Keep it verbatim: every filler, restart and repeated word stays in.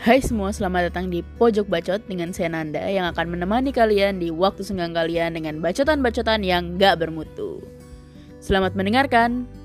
Hai semua, selamat datang di Pojok Bacot dengan saya Nanda yang akan menemani kalian di waktu senggang kalian dengan bacotan-bacotan yang gak bermutu. Selamat mendengarkan.